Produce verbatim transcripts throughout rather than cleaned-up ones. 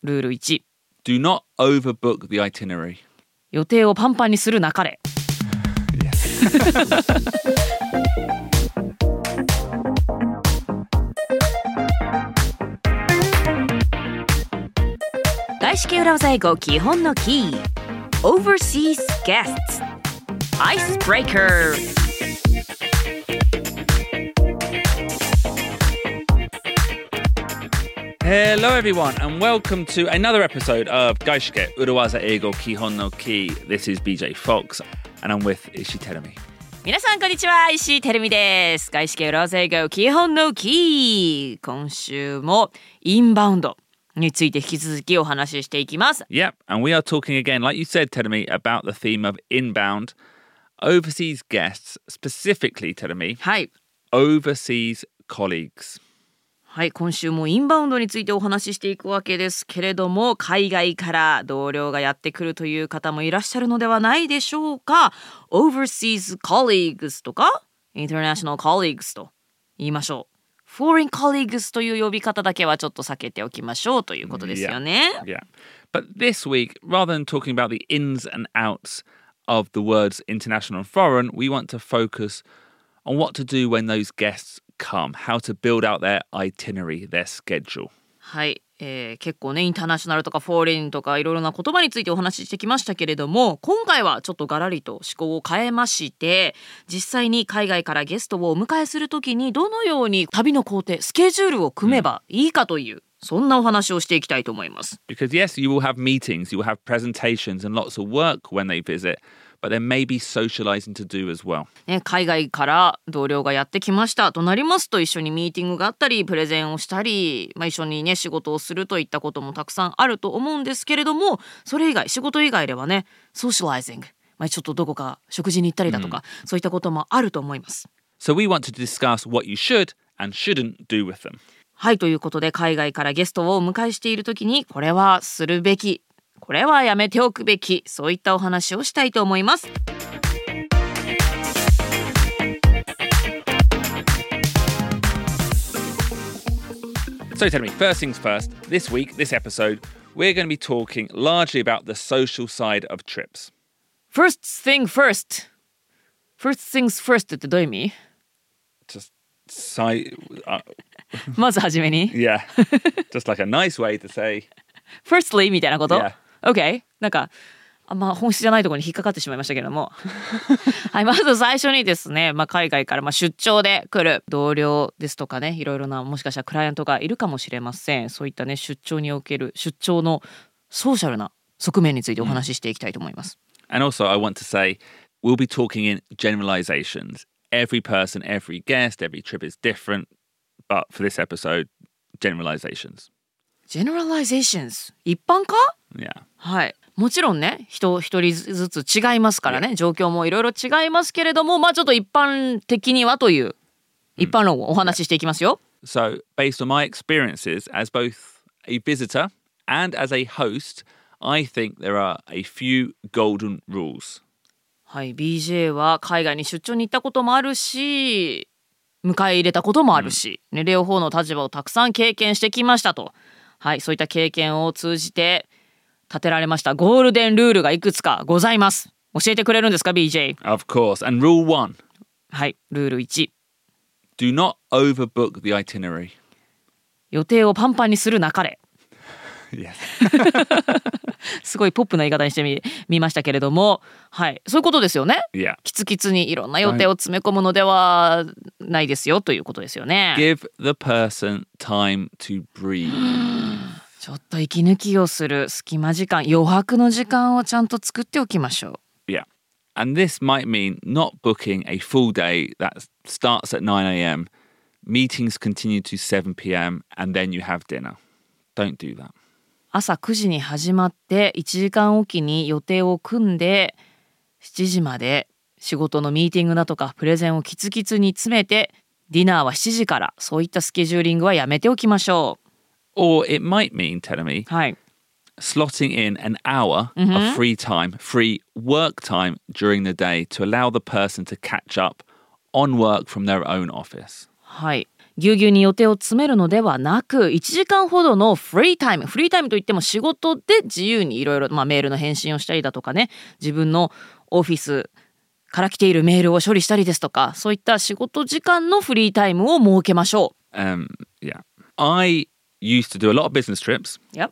ルールいち Do not overbook the itinerary. 予定をパンパンにするなかれ。外資系裏技英語基本のキー Overseas guests Icebreaker。 Hello everyone and welcome to another episode of Gaishike Urawaza Eigo Kihon no Ki. This is B J Fox and I'm with Ishii Terumi. 皆さんこんにちは、石井てるみです。外資系裏技英語基本のキー。今週もインバウンドについて引き続きお話ししていきます。 Yep, and we are talking again, like you said, Terumi, about the theme of inbound overseas guests, specifically, Terumi, はい。 overseas colleagues. はい、今週もインバウンドについてお話ししていくわけですけれども、海外から同僚がやってくるという方もいらっしゃるのではないでしょうか。 Overseas colleagues とか International colleagues と言いましょう。 Foreign colleagues という呼び方だけはちょっと避けておきましょうということですよね。 Yeah, yeah. But this week, rather than talking about the ins and outs of the words international and foreign, we want to focus on what to do when those guests come, how to build out their itinerary, their schedule. はい、えー、結構ねインターナショナルとかフォーリンとかいろいろな言葉についてお話ししてきましたけれども、今回はちょっとガラリと思考を変えまして、実際に海外からゲストをお迎えするときにどのように旅の工程、スケジュールを組めばいいかという、うん、そんなお話をしていきたいと思います。 Because yes, you will have meetings, you will have presentations and lots of work when they visit.But there may be socializing to do as well. ね、海外から同僚がやってきましたとなりますと、一緒にミーティングがあったりプレゼンをしたり、まあ、一緒にね仕事をするといったこともたくさんあると思うんですけれども、それ以外仕事以外ではねソーシャライジング、まあ、ちょっとどこか食事に行ったりだとか、うん、そういったこともあると思います。 So we want to discuss what you should and shouldn't do with them. はい、ということで海外からゲストをお迎えしているときにこれはするべき、これはやめておくべき、そういったお話をしたいと思います。 So tell me, first things first, this week, this episode, we're going to be talking largely about the social side of trips. First thing first. First things first ってどういう意味？ Just si- uh, まずはじめに Yeah, just like a nice way to say Firstly みたいなこと、 yeah. OK、 なんかあんま本質じゃないところに引っかかってしまいましたけれどもはい、まず最初にですね、まあ、海外からまあ出張で来る同僚ですとかね、いろいろなもしかしたらクライアントがいるかもしれません。そういったね出張における出張のソーシャルな側面についてお話ししていきたいと思います。 And also I want to say we'll be talking in generalizations. Every person, every guest, every trip is different. But for this episode, generalizations. Generalizations 一般化？ Yeah. はい。もちろんね、人一人ずつ違いますからね、状況もいろいろ違いますけれども、まあちょっと一般的にはという一般論をお話ししていきますよ。 So, based on my experiences as both a visitor and as a host, I think there are a few golden rules. はい、ビージェー は海外に出張に行ったこともあるし、迎え入れたこともあるし、うん、ね、両方の立場をたくさん経験してきましたと。はい、そういった経験を通じて立てられましたゴールデンルールがいくつかございます。教えてくれるんですか ビージェー？ Of course. And rule one. はい、ルールいち。 Do not overbook the itinerary. 予定をパンパンにするなかれ。 Yes. すごいポップな言い方にしてみ、みましたけれども、はい、そういうことですよね。 Yeah. キツキツにいろんな予定を詰め込むのではないですよということですよね。 Give the person time to breathe. ちょっと息抜きをする隙間時間、余白の時間をちゃんと作っておきましょう。 Yeah. And this might mean not booking a full day that starts at nine a.m. Meetings continue to seven p.m. and then you have dinner. Don't do that. 朝くじに始まっていちじかんおきに予定を組んでしちじまで仕事のミーティングだとかプレゼンをキツキツに詰めて、ディナーはしちじから、そういったスケジューリングはやめておきましょう。 Or it might mean, Terumi, はい、 slotting in an hour mm-hmm. of free time, free work time during the day to allow the person to catch up on work from their own office. はい、 ぎゅうぎゅうに予定を詰めるのではなく、いちじかんほどのフリータイム、フリータイムといっても仕事で自由にいろいろ、まあ、メールの返信をしたりだとかね、自分のオフィスから来ているメールを処理したりですとか、そういった仕事時間のフリータイムを設けましょう。Um, yeah. I used to do a lot of business trips Yep.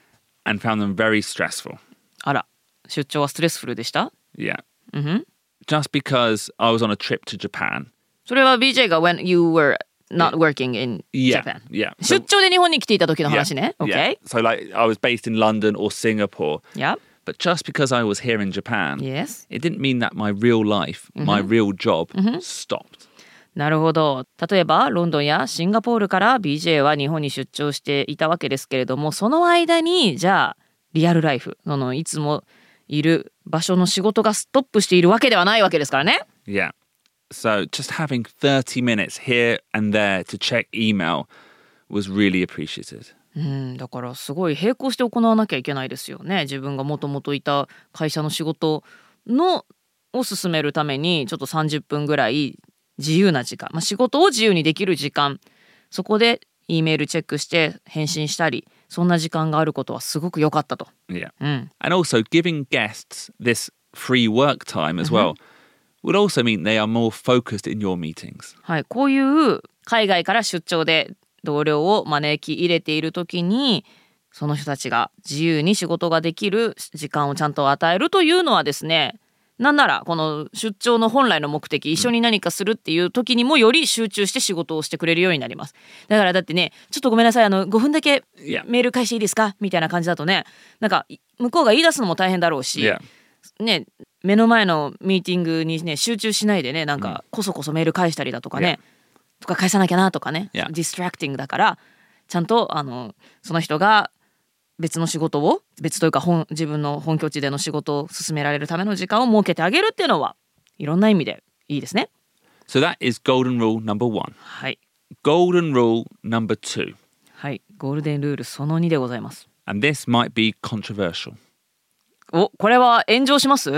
and found them very stressful. あら、出張はストレスフルでした？ Yeah.、Mm-hmm. Just because I was on a trip to Japan. それは ビージェー が when you were not working in Japan. Yeah, yeah. 出張で日本に来ていた時の話ね。 Yeah, Okay. Yeah. So like I was based in London or Singapore. Yep. But just because I was here in Japan, yes. it didn't mean that my real life,、mm-hmm. my real job、mm-hmm. stopped. なるほど。例えばロンドンやシンガポールから ビージェー は日本に出張していたわけですけれども、その間にじゃあリアルライフ、そのいつもいる場所の仕事がストップしているわけではないわけですからね。 Yeah. So just having thirty minutes here and there to check email was really appreciated. うん、だからすごい並行して行わなきゃいけないですよね。自分がもともといた会社の仕事のを進めるためにちょっとさんじゅっぷんぐらい自由な時間、まあ、仕事を自由にできる時間、そこで E メールチェックして返信したり、そんな時間があることはすごく良かったと。 Yeah. うん、 And also giving guests this free work time as well、mm-hmm. would also mean they are more focused in your meetings. はい、こういう海外から出張で同僚を招き入れているときに、その人たちが自由に仕事ができる時間をちゃんと与えるというのはですね、なんならこの出張の本来の目的、一緒に何かするっていう時にもより集中して仕事をしてくれるようになります。だからだってね、ちょっとごめんなさい、あのごふんだけメール返していいですかみたいな感じだとね、なんか向こうが言い出すのも大変だろうし、 yeah. ね、目の前のミーティングにね集中しないでね、なんかこそこそメール返したりだとかね、yeah. とか返さなきゃなとかね、 yeah. ディストラクティングだから、ちゃんとあのその人が別の仕事を、別というか本自分の本拠地での仕事を進められるための時間を設けてあげるっていうのはいろんな意味でいいですね。 So that is golden rule number one. はい。 Golden rule number two. はい。ゴールデンルールそのにでございます。 And this might be controversial. お、これは炎上します？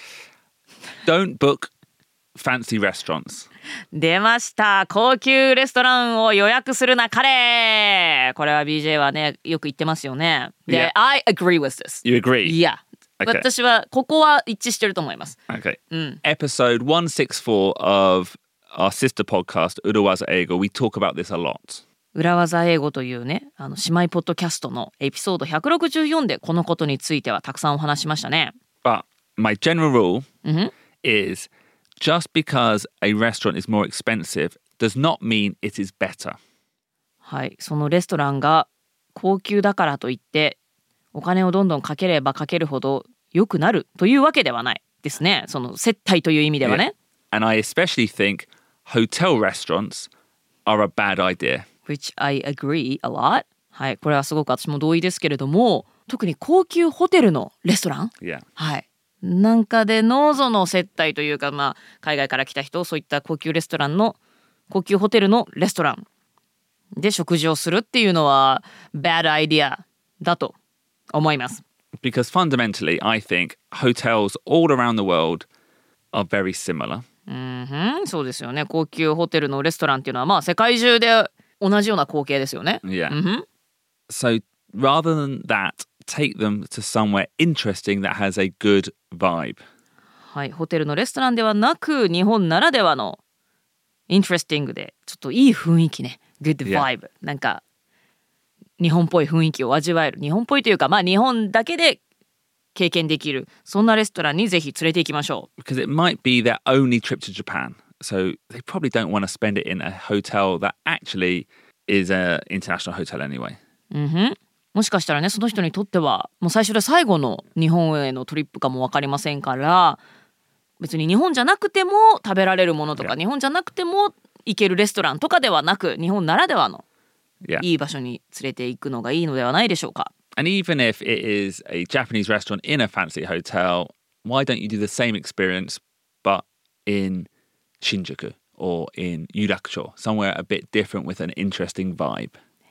Don't book fancy restaurants. 出ました。高級レストランを予約するな彼。これは ビージェー はねよく言ってますよね。で、 yeah. I agree with this. You agree? Yeah. Okay. 私はここは一致してると思います。 Okay. うん、 Episode one sixty-four of our sister podcast Urawaza Eigo, we talk about this a lot. 裏技英語というね、あの姉妹ポッドキャストのエピソードひゃくろくじゅうよんでこのことについてはたくさんお話しましたね。 But my general rule、mm-hmm. is just because a restaurant is more expensive does not mean it is better. はい、そのレストランが高級だからといってお金をどんどんかければかけるほど良くなるというわけではないですね。その接待という意味ではね。 Yeah. And I especially think hotel restaurants are a bad idea. Which I agree a lot. はい、これはすごく私も同意ですけれども、特に高級ホテルのレストラン、 yeah. はい。なんかでのその接待というか、まあ、海外から来た人、そういった高級レストランの高級ホテルのレストランで食事をするっていうのは bad idea だと思います。 Because fundamentally, I think hotels all around the world are very similar. うんふん、そうですよね。高級ホテルのレストランっていうのはまあ世界中で同じような光景ですよね。 Yeah. うんふん。 So rather than that,take them to somewhere interesting that has a good vibe. はい、ホテルのレストランではなく日本ならではの interesting でちょっといい雰囲気ね。good vibe、yeah. なんか日本っぽい雰囲気を味わえる。日本っぽいというか、まあ日本だけで経験できる。そんなレストランにぜひ連れて行きましょう。 Because it might be their only trip to Japan. So they probably don't want to spend it in a hotel that actually is an international hotel anyway. うんふん。もしかしたらね、その人にとってはもう最初で最後の日本へのトリップかも分かりませんから、別に日本じゃなくても食べられるものとか、yeah. 日本じゃなくても行けるレストランとかではなく、日本ならではのいい場所に連れて行くのがいいのではないでしょうか。 And even if it is a Japanese restaurant in a fancy hotel, why don't you do the same experience but in Shinjuku or in Yurakucho, somewhere a bit different with an interesting vibe?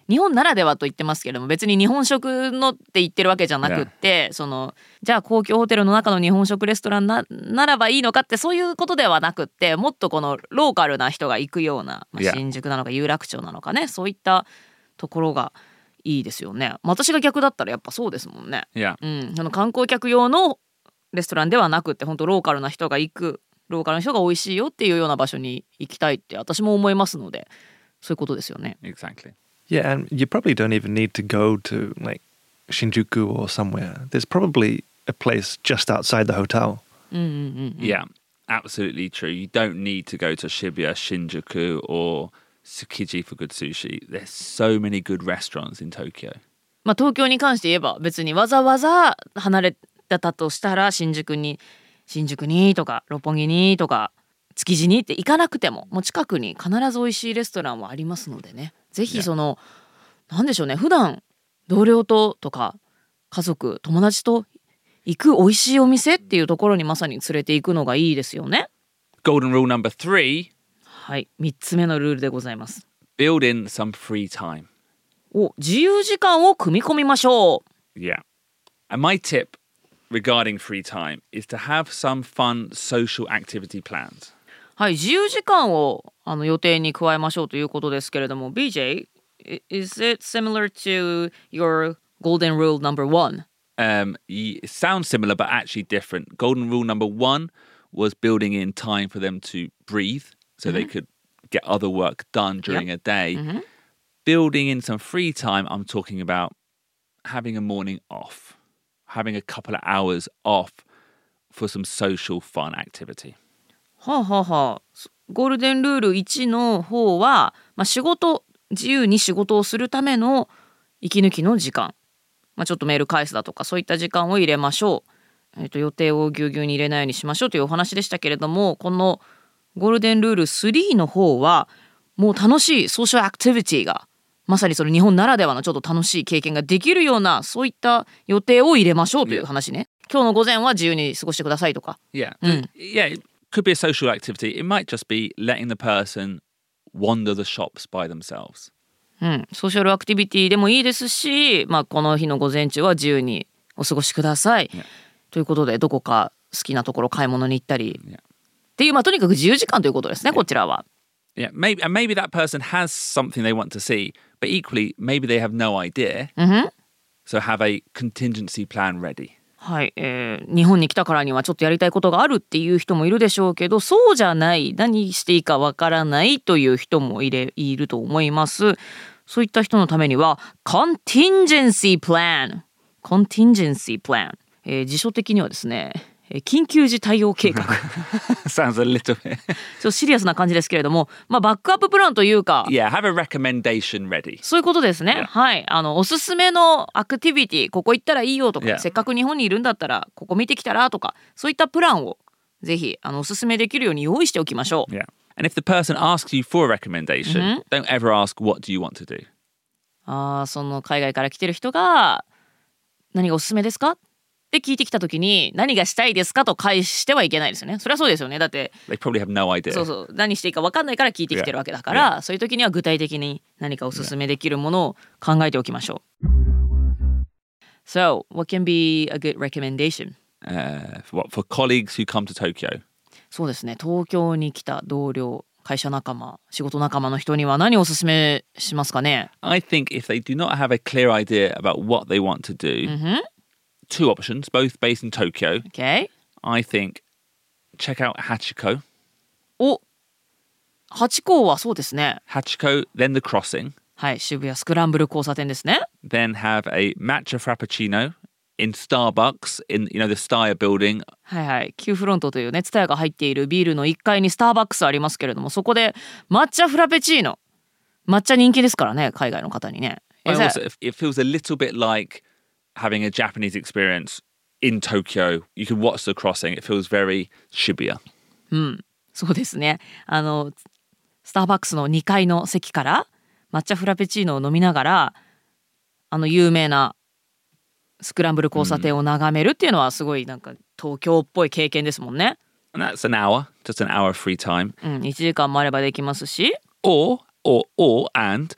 日本ならではと言ってますけれども、別に日本食のって言ってるわけじゃなくって、yeah. そのじゃあ公共ホテルの中の日本食レストラン な, ならばいいのかってそういうことではなくって、もっとこのローカルな人が行くような、まあ、新宿なのか有楽町なのかね、そういったところがいいですよね。私が逆だったらやっぱそうですもんね、 yeah. うん、あの観光客用のレストランではなくって、本当ローカルな人が行く、ローカルな人が美味しいよっていうような場所に行きたいって私も思いますので、そういうことですよね。 Exactly. Yeah, and you probably don't even need to go to like Shinjuku or somewhere. There's probably a place just outside the hotel. うんうんうんうん、 Yeah, absolutely true. You don't need to go to Shibuya, Shinjuku or Tsukiji for good sushi. There's so many good restaurants in Tokyo. まあ東京に関して言えば別にわざわざ離れたとしたら新宿に新宿にとか六本木にとか築地にって行かなくても、もう近くに必ず美味しいレストランはありますのでね、ぜひその、yeah. なんでしょうね、普段同僚ととか家族友達と行く美味しいお店っていうところにまさに連れて行くのがいいですよね。 Golden rule number three. はい、みっつめのルールでございます。 Build in some free time. お、自由時間を組み込みましょう。 Yeah. And my tip regarding free time is to have some fun social activity plans. はい、自由時間をあの予定に加えましょうということですけれども、 ビージェー, is it similar to your golden rule number one? Um, it sounds similar but actually different. Golden rule number one was building in time for them to breathe so mm-hmm. they could get other work done during yep. a day. Mm-hmm. Building in some free time, I'm talking about having a morning off, having a couple of hours off for some social fun activity. はあはあはあ、ゴールデンルールいちの方は、まあ、仕事自由に仕事をするための息抜きの時間、まあ、ちょっとメール返すだとかそういった時間を入れましょう、えーと、予定をぎゅうぎゅうに入れないようにしましょうというお話でしたけれども、このゴールデンルールスリーの方はもう楽しいソーシャルアクティビティがまさにその日本ならではのちょっと楽しい経験ができるようなそういった予定を入れましょうという話ね。今日の午前は自由に過ごしてくださいとか。 Yeah. うん、 yeah. Could be a social activity. It might just be letting the person wander the shops by themselves. うん、ソーシャルアクティビティでもいいですし、まあ、この日の午前中は自由にお過ごしください、yeah. ということでどこか好きなところ買い物に行ったり、yeah. っていう、まあ、とにかく自由時間ということですね、yeah. こちらは。 Yeah, maybe, and maybe that person has something they want to see, but equally, maybe they have no idea. Mm-hmm. So have a contingency plan ready. はい、えー、日本に来たからにはちょっとやりたいことがあるっていう人もいるでしょうけど、そうじゃない、何していいかわからないという人もいれ、いると思います。そういった人のためには contingency plan contingency plan、えー、辞書的にはですね、緊急時対応計画 Sounds a little bit ちょっとシリアスな感じですけれども、まあ、バックアッププランというか、 Yeah, have a recommendation ready. そういうことですね、 yeah. はい、あのおすすめのアクティビティ、ここ行ったらいいよとか、 yeah. せっかく日本にいるんだったらここ見てきたらとか、そういったプランをぜひあのおすすめできるように用意しておきましょう。 Yeah. And if the person asks you for a recommendation、mm-hmm. don't ever ask what do you want to do. あー、その海外から来てる人が何がおすすめですかって聞いてきたときに何がしたいですかと返してはいけないですよね。それはそうですよね。だって They probably have no idea. そうそう、何していいか分かんないから聞いてきてるわけだから、yeah. Yeah. そういう時には具体的に何かおすすめできるものを考えておきましょう。So, what can be a good recommendation? Uh, for, what, for colleagues who come to Tokyo? そうですね。東京に来た同僚、会社仲間、仕事仲間の人には何をおすすめしますかね？ I think if they do not have a clear idea about what they want to do,、mm-hmm. two options, both based in Tokyo. Okay. I think check out Hachiko. お、ハチ公はそうですね。 Hachiko, then the crossing. はい、渋谷スクランブル交差点ですね。 Then have a matcha frappuccino in Starbucks in, you know, the Steyr building. はいはい、Qフロントというね、ツタヤが入っているビールのいっかいにスターバックスありますけれども、そこで抹茶フラペチーノ。抹茶人気ですからね、海外の方にね。 Also, it feels a little bit like having a Japanese experience in Tokyo. You can watch the crossing. It feels very Shibuya. うん、そうですね。あのスターバックスのにかいの席から抹茶フラペチーノを飲みながら、あの有名なスクランブル交差点を眺めるっていうのはすごいなんか東京っぽい経験ですもんね。 And that's an hour, just an hour of free time. うん、いちじかんもあればできますし。 Or, or, or, and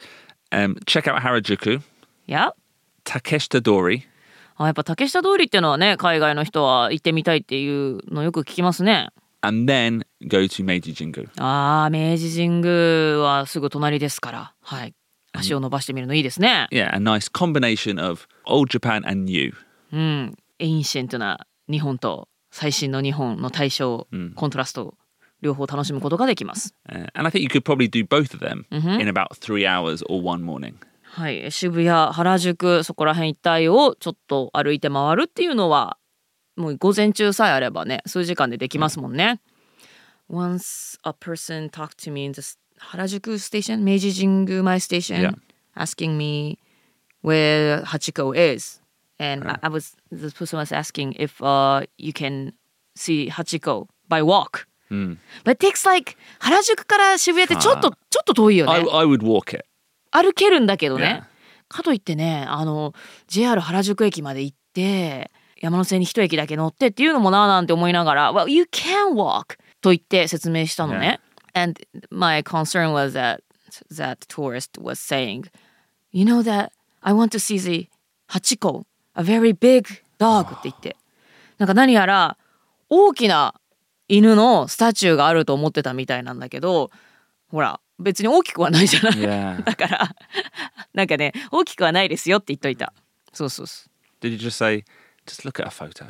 Um, check out Harajuku, いや、 Takeshita Dori, あ、やっぱ竹下通りっていうのはね、海外の人は行ってみたいっていうのよく聞きますね。 and then go to Meiji Jingu. ああ、明治神宮はすぐ隣ですから、はい。足を伸ばしてみるのいいですね。 Yeah, a nice combination of old Japan and new. うん、エインシェントな日本と最新の日本の対象、コントラスト両方楽しむことができます。 Uh, and I think you could probably do both of them in about three hours or one morning. はい、渋谷、原宿、そこら辺一帯をちょっと歩いて回るっていうのはもう午前中さえあればね、数時間でできますもんね。Once a person talked to me in the 原宿 station, 明治神宮前 station, Yeah. asking me where Hachiko is. And I, I was, the person was asking if uh, you can see Hachiko by walk. Mm. But it takes like 原宿から渋谷ってちょっと、ちょっと遠いよね。 I, I would walk it. 歩けるんだけどね。 Yeah. かといってね、あの ジェイアール 原宿駅まで行って山手線に一駅だけ乗ってっていうのもなーなんて思いながら Well, you can walk と言って説明したのね。Yeah. And my concern was that that tourist was saying, You know that I want to see the Hachiko, a very big dog って言って、なんか何やら大きな犬のスタチューがあると思ってたみたいなんだけど、ほら別に大きくはないじゃない。 Yeah. だからなんかね、大きくはないですよって言っといた。そうそうそう。 Did you just say, just look at a photo?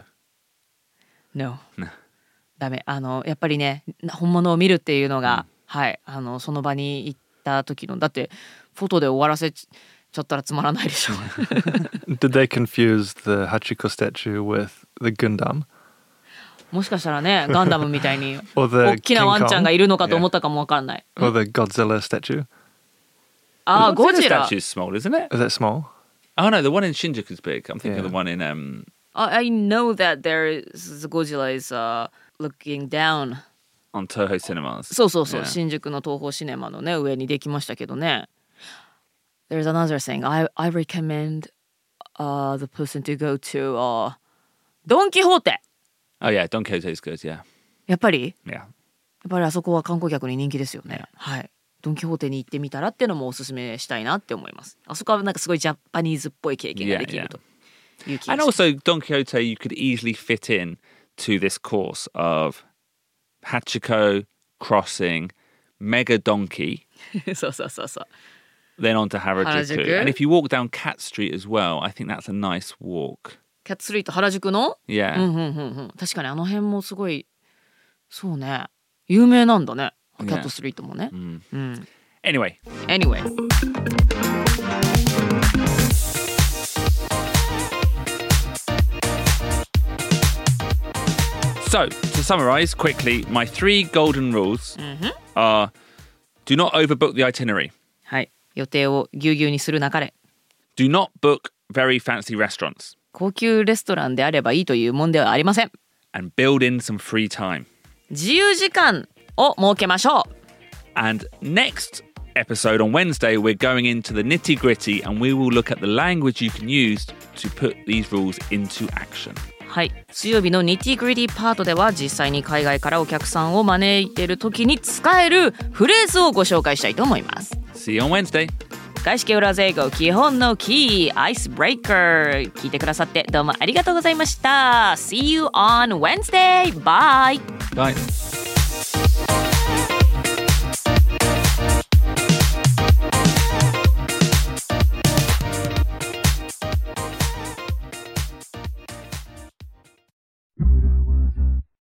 No. No. ダメ。あのやっぱりね、本物を見るっていうのが、うん、はい、あのその場に行った時の、だってフォトで終わらせちゃったらつまらないでしょ。 Did they confuse the Hachiko statue with the Gundam? もしかしたらね、ガンダムみたいに Or the 大きなワンちゃんがいるのかと思ったかもわかんない。 Or the Godzilla statue? あ、ゴジラ。 The statue's small, isn't it? Is that small? Oh no, the one in Shinjuku's big. I'm thinking Yeah. of the one in um. I know that there is the Godzilla is、uh, looking down on Toho Cinemas. そうそうそう、 Yeah. 新宿の東宝シネマのね上にできましたけどね。There's another thing. I I recommend uh the person to go to uh ドンキホーテ。 Oh yeah, Don Quixote's good. Yeah. やっぱり Yeah. やっぱりあそこは観光客に人気ですよね。はい。ドンキホーテに行ってみたらっていうのもおすすめしたいなって思います。あそこはなんかすごいジャパニーズっぽい経験ができるという気がし And ます。 also, Don Quixote, you could easily fit in to this course of Hachiko crossing, Mega Donkey, そうそうそうそう。 then on to Harajuku. Harajuku. And if you walk down Cat Street as well, I think that's a nice walk. キャットストリート原宿の Yeah. うんうんうんうん、確かにあの辺もすごいそうね有名なんだね、キャットストリートもね、 Mm. うん、 Anyway. Anyway So, to summarize quickly, my three golden rules are do not overbook the itinerary. はい、予定をぎゅうぎゅうにするなかれ。 Do not book very fancy restaurants. 高級レストランであればいいというもんではありません。 And build in some free time. 自由時間を設けましょう。 And next episode on Wednesday, we're going into the nitty gritty and we will look at the language you can use to put these rules into action. はい、水曜日のニティグリティパートでは実際に海外からお客さんを招いている時に使えるフレーズをご紹介したいと思います。 See you on Wednesday. 外資系裏英語基本のキーアイスブレイカー聞いてくださってどうもありがとうございました。 See you on Wednesday. Bye. Bye.